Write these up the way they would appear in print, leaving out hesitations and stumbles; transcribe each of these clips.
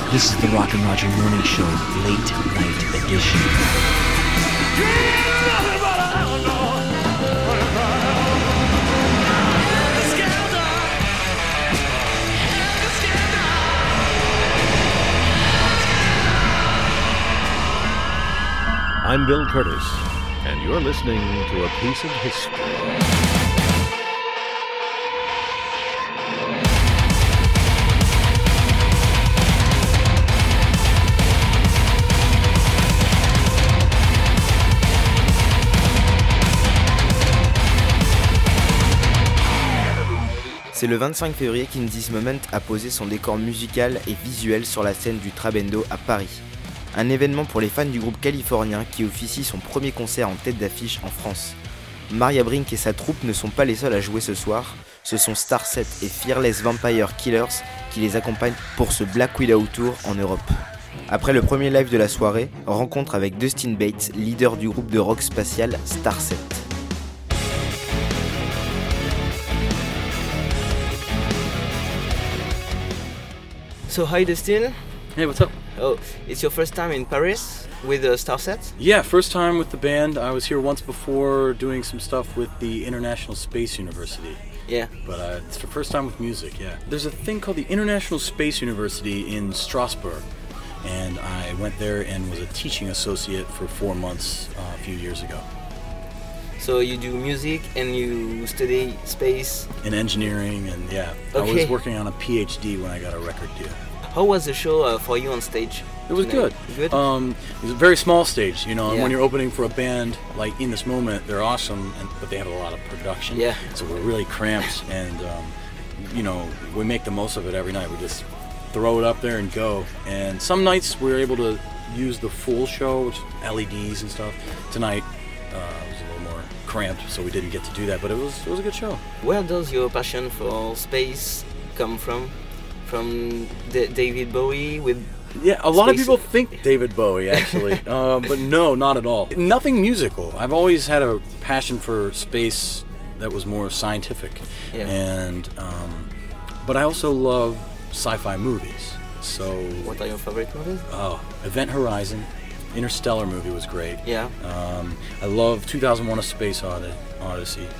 This is the Rock and Roger Morning Show, Late Night Edition. I'm Bill Curtis, and you're listening to A Piece of History. C'est le 25 février qu'In This Moment a posé son décor musical et visuel sur la scène du Trabendo à Paris. Un événement pour les fans du groupe californien qui officie son premier concert en tête d'affiche en France. Maria Brink et sa troupe ne sont pas les seuls à jouer ce soir, ce sont Starset et Fearless Vampire Killers qui les accompagnent pour ce Black Widow Tour en Europe. Après le premier live de la soirée, rencontre avec Dustin Bates, leader du groupe de rock spatial Starset. So hi Dustin. Hey, what's up? Oh, it's your first time in Paris with Starset? Yeah, first time with the band. I was here once before doing some stuff with the International Space University. Yeah. But it's the first time with music, yeah. There's a thing called the International Space University in Strasbourg. And I went there and was a teaching associate for 4 months a few years ago. So you do music and you study space? In engineering, and yeah. Okay. I was working on a PhD when I got a record deal. How was the show for you on stage? It was good. Good? It was a very small stage, you know, and Yeah. when you're opening for a band like In This Moment, they're awesome, but they have a lot of production. Yeah. So we're really cramped, and, you know, we make the most of it every night. We just throw it up there and go. And some nights we're able to use the full show, which LEDs and stuff. Tonight was a little more cramped, so we didn't get to do that, but it was a good show. Where does your passion for space come from? From David Bowie with... Yeah, a lot of Space. people think David Bowie, actually, but no, not at all. Nothing musical. I've always had a passion for space that was more scientific, Yeah. and but I also love sci-fi movies. So, What are your favorite movies? Event Horizon, Interstellar movie was great. Yeah. I love 2001: A Space Odyssey.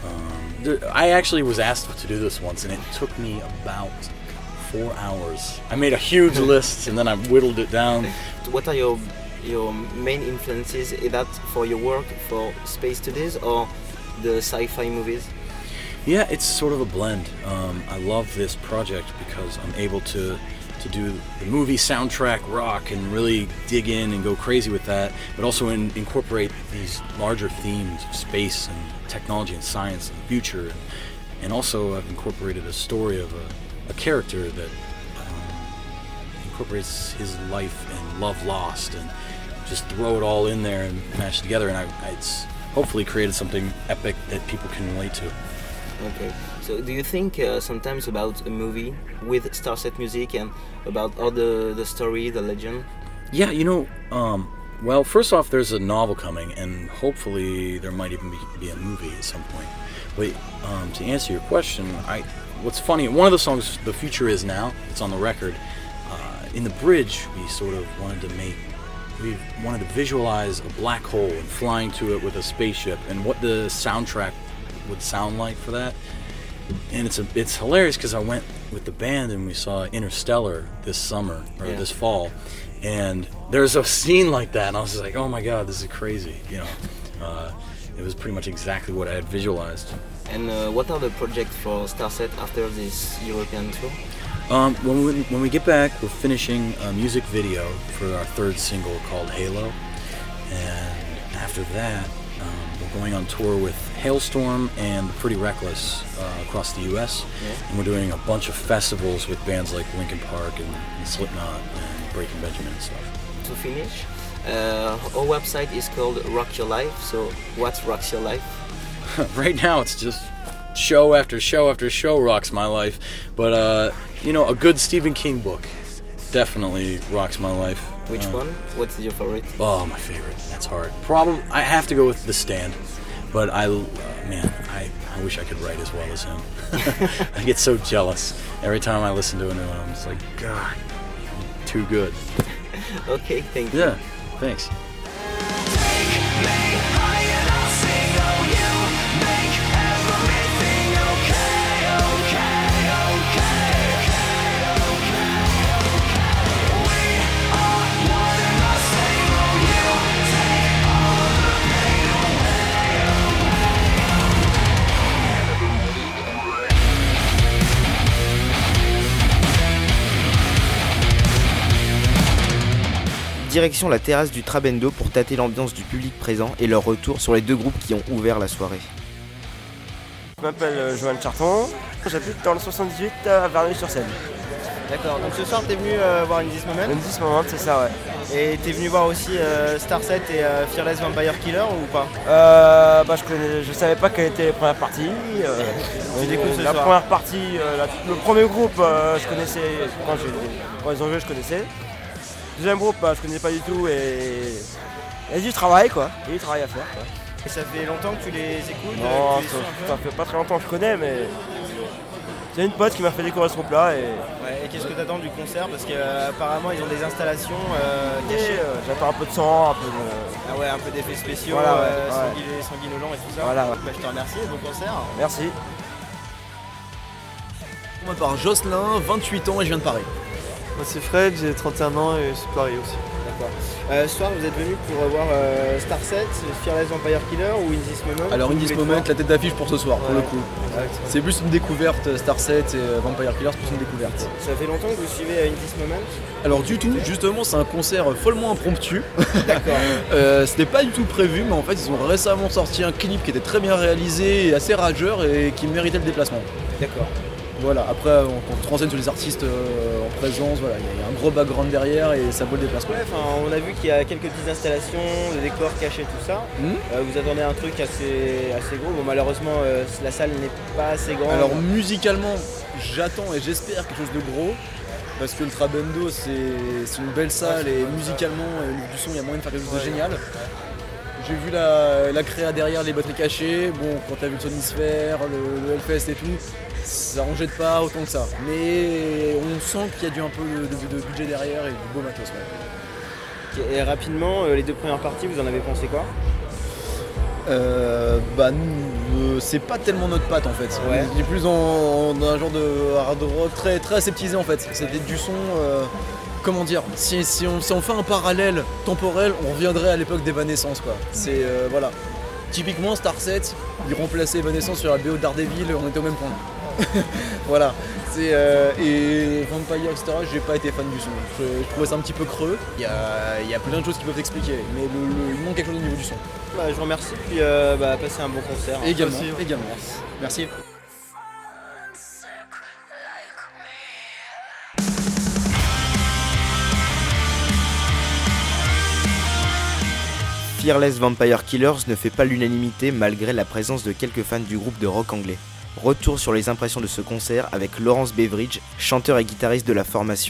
I actually was asked to do this once, and it took me about 4 hours. I made a huge list, and then I whittled it down. What are your main influences? Is that for your work, for space studies, or the sci-fi movies? Yeah, it's sort of a blend. I love this project because I'm able to do the movie soundtrack rock and really dig in and go crazy with that, but also incorporate these larger themes of space and technology and science and the future. And also I've incorporated a story of a character that incorporates his life and love lost, and just throw it all in there and mash it together, and it's hopefully created something epic that people can relate to. Okay. So do you think sometimes about a movie with Starset music and about all the story, the legend? Yeah, you know, well, first off, there's a novel coming, and hopefully there might even be a movie at some point. But to answer your question, what's funny, one of the songs, The Future Is Now, it's on the record, in the bridge we sort of wanted to visualize a black hole and flying to it with a spaceship, and what the soundtrack would sound like for that. And it's hilarious because I went with the band and we saw Interstellar this summer, or this fall, and there's a scene like that, and I was just like, oh my god, this is crazy, you know. It was pretty much exactly what I had visualized. And what are the projects for Starset after this European tour? When we get back, we're finishing a music video for our third single called Halo, and after that we're going on tour with Hailstorm and Pretty Reckless across the US, and we're doing a bunch of festivals with bands like Linkin Park and Slipknot and Breaking Benjamin and stuff. To finish, our website is called Rock Your Life, so what rocks your life? Right now it's just show after show after show rocks my life, but you know, a good Stephen King book definitely rocks my life. Which one? What's your favorite? Oh, my favorite. That's hard. Probably I have to go with The Stand, but I wish I could write as well as him. I get so jealous every time I listen to a new one. I'm just like, God, too good. Okay, thank you. Yeah, thanks. Direction la terrasse du Trabendo pour tâter l'ambiance du public présent et leur retour sur les deux groupes qui ont ouvert la soirée. Je m'appelle Johan Charton, j'habite dans le 78 à Verneuil-sur-Seine. D'accord, donc ce soir t'es venu voir In This Moment. In This Moment, c'est ça, ouais. Et t'es venu voir aussi Starset et Fearless Vampire Killer ou pas? Je savais pas quelle était la première partie. Tu découvres ce la soir. première partie, le premier groupe, je connaissais, quand ils ont joué, je connaissais. Le deuxième groupe, je connaissais pas du tout et il y a du travail, quoi. Il y a du travail à faire, quoi. Et ça fait longtemps que tu les écoutes? Non, que tu les suis un peu ça fait pas très longtemps que je connais, mais c'est une pote qui m'a fait découvrir ce groupe-là. Ouais, et qu'est-ce que t'attends du concert? Parce qu'apparemment ils ont des installations cachées. J'attends un peu de sang, un peu de... Ah ouais, un peu d'effets spéciaux, Voilà, ouais. sanguinolents et tout ça. Voilà, ouais. Bah, je te remercie, bon concert. Merci. Moi par Jocelyn, 28 ans et je viens de Paris. Moi c'est Fred, j'ai 31 ans et c'est Paris aussi. D'accord. Ce soir vous êtes venu pour voir Starset, Fearless Vampire Killer ou In This Moment? Alors In This Moment, la tête d'affiche pour ce soir, pour le coup. Exactement. C'est plus une découverte, Starset et Vampire Killer, c'est plus une découverte. Ça fait longtemps que vous suivez In This Moment? Alors du tout, justement c'est un concert follement impromptu. D'accord. C'était pas du tout prévu, mais en fait ils ont récemment sorti un clip qui était très bien réalisé et assez rageur et qui méritait le déplacement. D'accord. Voilà, après quand on se renseigne sur les artistes en présence, voilà, il y a un gros background derrière et ça vaut le déplacement. Ouais, on a vu qu'il y a quelques petites installations, des décors cachés, tout ça. Vous attendez un truc assez gros. Bon, malheureusement, la salle n'est pas assez grande. Alors musicalement, j'attends et j'espère quelque chose de gros. Parce que le Trabendo c'est une belle salle et musicalement, au niveau du son, il y a moyen de faire quelque chose de génial. J'ai vu la créa derrière, les batteries cachées. Bon, quand t'as vu le Sonisphere, le Hellfest et tout, ça en jette pas autant que ça. Mais on sent qu'il y a un peu de budget derrière et du beau matos. Ouais. Et rapidement, les deux premières parties, vous en avez pensé quoi? Nous, c'est pas tellement notre patte en fait. Ouais. On est plus dans un genre de hard rock très, très aseptisé en fait. C'était du son. Comment dire, si on fait un parallèle temporel, on reviendrait à l'époque d'Evanescence quoi. C'est voilà. Typiquement Starset, il remplaçait Evanescence sur la BO Daredevil, on était au même point. Voilà. Et Vampire, etc. J'ai pas été fan du son. Je trouvais ça un petit peu creux. Il y a plein de choses qui peuvent expliquer, mais il manque quelque chose au niveau du son. Bah, je vous remercie, puis passez un bon concert. Également. Merci. Fearless Vampire Killers ne fait pas l'unanimité malgré la présence de quelques fans du groupe de rock anglais. Retour sur les impressions de ce concert avec Lawrence Beveridge, chanteur et guitariste de la formation.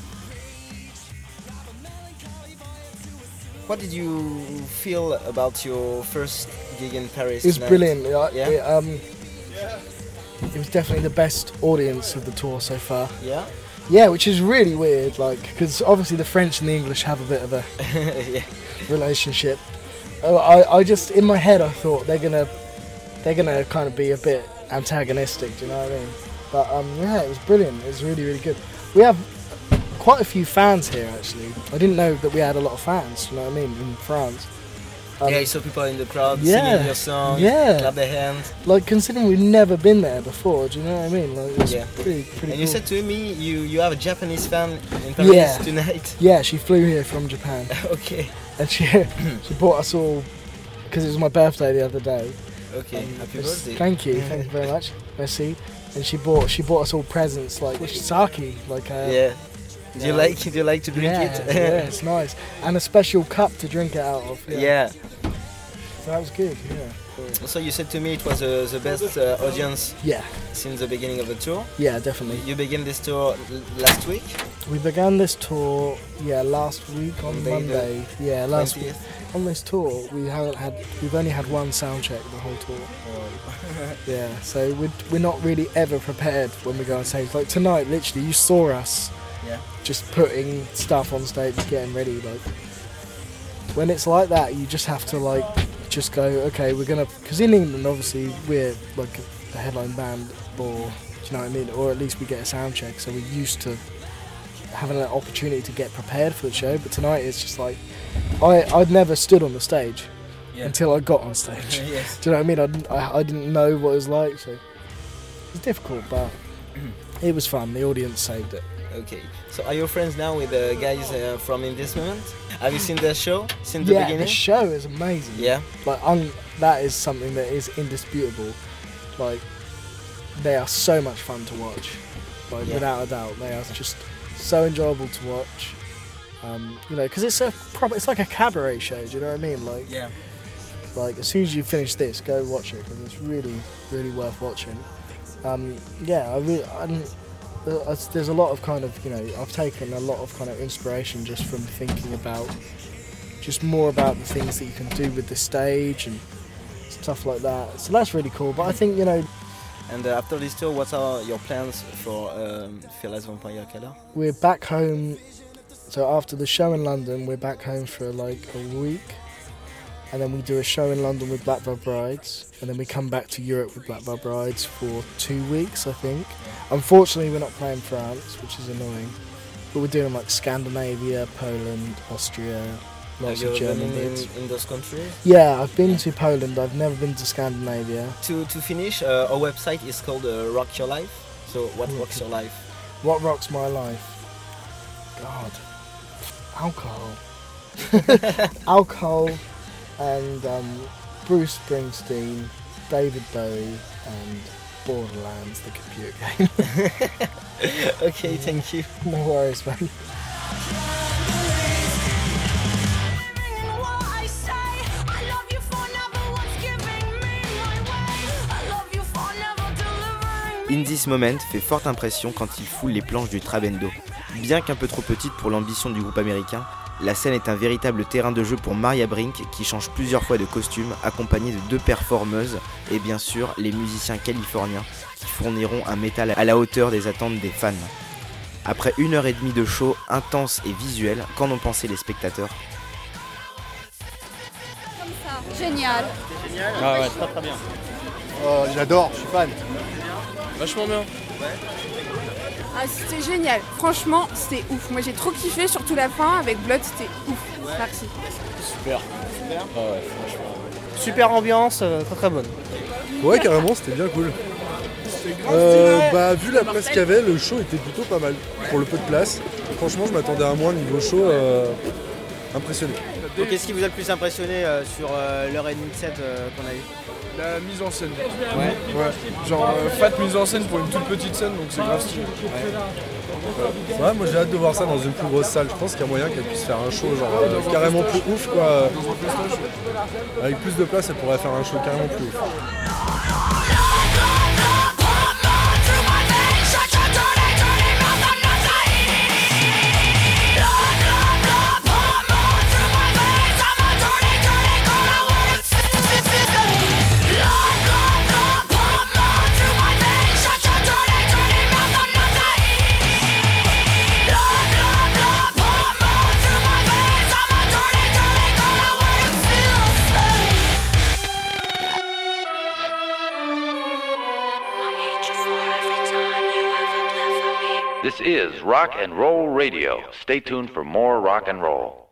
What did you feel about your first gig in Paris? It's tonight? brilliant. Yeah? It was definitely the best audience of the tour so far. Yeah? Yeah, which is really weird, like, because obviously the French and the English have a bit of a Yeah. relationship. I just, in my head, I thought they're gonna kind of be a bit antagonistic. Do you know what I mean? But yeah, it was brilliant. It was really, really good. We have quite a few fans here, actually. I didn't know that we had a lot of fans. Do you know what I mean? In France. Yeah, you saw people in the crowd yeah, singing your song, yeah. clap their hands. Like, considering we've never been there before, do you know what I mean? Like, it's Yeah. pretty And cool. you said to me you have a Japanese fan in Paris Yeah. tonight. Yeah, she flew here from Japan, Okay. and she brought us all because it was my birthday the other day. Okay. Happy birthday. Thank you very much. Merci. And she bought us all presents like sake, like Yeah. Do you like to drink yeah, it? yeah, it's nice, and a special cup to drink it out of. Yeah. So that was good. Yeah. So you said to me it was the best audience Yeah. since the beginning of the tour. Yeah, definitely. You began this tour last week. We began this tour, last week on Monday, Monday. Yeah, last week. 20th. On this tour, we've only had one sound check the whole tour. Yeah, so we're not really ever prepared when we go on stage. Like tonight, literally, you saw us Yeah. Just putting stuff on stage, getting ready. Like when it's like that, you just have to like just go. Okay, we're gonna. Because in England, obviously, we're like a headline band, or do you know what I mean? Or at least we get a sound check, so we're used to having an opportunity to get prepared for the show. But tonight it's just like I'd never stood on the stage until I got on stage. Yes. Do you know what I mean? I didn't know what it was like, so it's difficult, but it was fun. The audience saved it. Okay, so are you friends now with the guys from In This Moment? Have you seen their show since the beginning? Yeah, the show is amazing. Yeah? Like, that is something that is indisputable. Like, they are so much fun to watch. Like, without a doubt. They are just so enjoyable to watch. You know, because it's like a cabaret show, do you know what I mean? Like, like, as soon as you finish this, go watch it, because it's really, really worth watching. There's a lot of kind of, you know, I've taken a lot of kind of inspiration just from thinking about just more about the things that you can do with the stage and stuff like that. So that's really cool. But I think, you know. And after this tour, what are your plans for Fearless Vampire Killer? We're back home. So after the show in London, we're back home for like a week. And then we do a show in London with Blackbird Brides, and then we come back to Europe with Blackbird Brides for 2 weeks, I think. Unfortunately, we're not playing France, which is annoying, but we're doing like Scandinavia, Poland, Austria, lots of German bits. In those countries? Yeah, I've been to Poland. I've never been to Scandinavia. To finish, our website is called Rock Your Life. So what rocks your life? What rocks my life? God, alcohol. Alcohol. And Bruce Springsteen, David Bowie, and Borderlands, the computer game. Okay, thank you. No worries, man. In This Moment fait forte impression quand il foule les planches du Trabendo. Bien qu'un peu trop petite pour l'ambition du groupe américain, la scène est un véritable terrain de jeu pour Maria Brink qui change plusieurs fois de costume, accompagnée de 2 performeuses et bien sûr les musiciens californiens qui fourniront un métal à la hauteur des attentes des fans. Après 1h30 de show intense et visuel, qu'en ont pensé les spectateurs? Comme ça, génial. Génial. Ah ouais, très très bien. J'adore, je suis fan. Vachement bien. Ah, c'était génial. Franchement, c'était ouf. Moi, j'ai trop kiffé, surtout la fin avec Blood, c'était ouf. Merci. Super. Ah ouais, franchement. Super ambiance, très très bonne. Ouais, carrément, c'était bien cool. Vu la place qu'il y avait, le show était plutôt pas mal pour le peu de place. Franchement, je m'attendais à moins niveau show, impressionné. Donc, qu'est-ce qui vous a le plus impressionné sur l'heure et demie de set qu'on a eu? La mise en scène. Ouais. Genre fat mise en scène pour une toute petite scène, donc c'est grave stylé. Ouais, moi j'ai hâte de voir ça dans une plus grosse salle. Je pense qu'il y a moyen qu'elle puisse faire un show genre carrément plus ouf quoi. Avec plus de place, elle pourrait faire un show carrément plus ouf. This is Rock and Roll Radio. Stay tuned for more rock and roll.